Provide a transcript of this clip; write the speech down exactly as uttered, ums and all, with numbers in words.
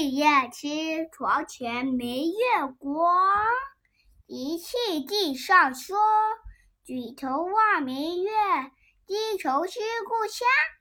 夜痴，床前明月光。一气地上霜，举头望明月，低头思故乡。